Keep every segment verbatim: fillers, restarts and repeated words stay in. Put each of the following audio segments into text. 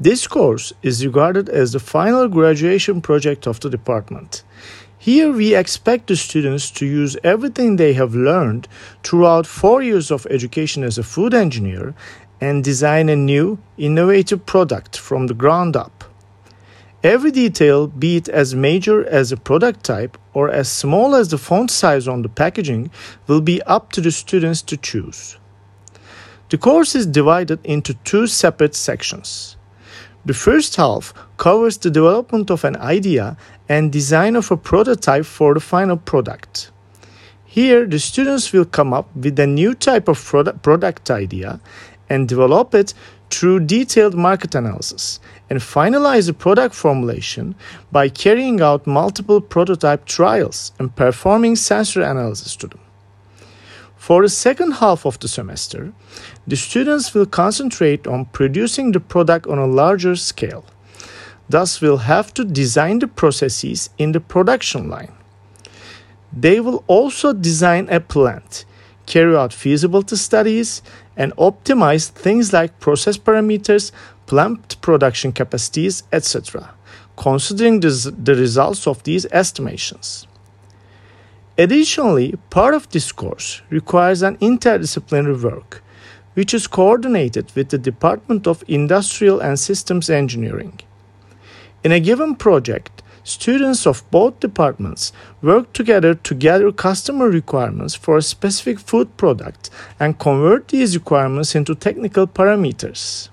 This course is regarded as the final graduation project of the department. Here we expect the students to use everything they have learned throughout four years of education as a food engineer and design a new, innovative product from the ground up. Every detail, be it as major as a product type or as small as the font size on the packaging, will be up to the students to choose. The course is divided into two separate sections. The first half covers the development of an idea and design of a prototype for the final product. Here, the students will come up with a new type of product idea and develop it through detailed market analysis and finalize the product formulation by carrying out multiple prototype trials and performing sensor analysis to them. For the second half of the semester, the students will concentrate on producing the product on a larger scale. Thus, will have to design the processes in the production line. They will also design a plant, carry out feasibility studies, and optimize things like process parameters, plant production capacities, et cetera, considering this, the results of these estimations. Additionally, part of this course requires an interdisciplinary work, which is coordinated with the Department of Industrial and Systems Engineering. In a given project, students of both departments work together to gather customer requirements for a specific food product and convert these requirements into technical parameters.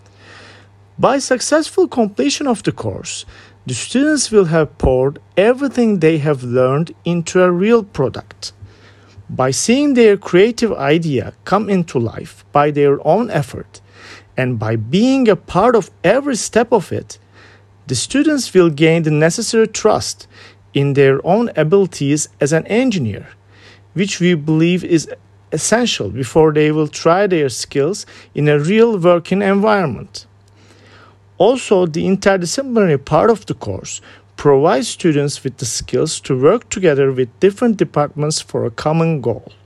By successful completion of the course, the students will have poured everything they have learned into a real product. By seeing their creative idea come into life by their own effort, and by being a part of every step of it, the students will gain the necessary trust in their own abilities as an engineer, which we believe is essential before they will try their skills in a real working environment. Also, the interdisciplinary part of the course provides students with the skills to work together with different departments for a common goal.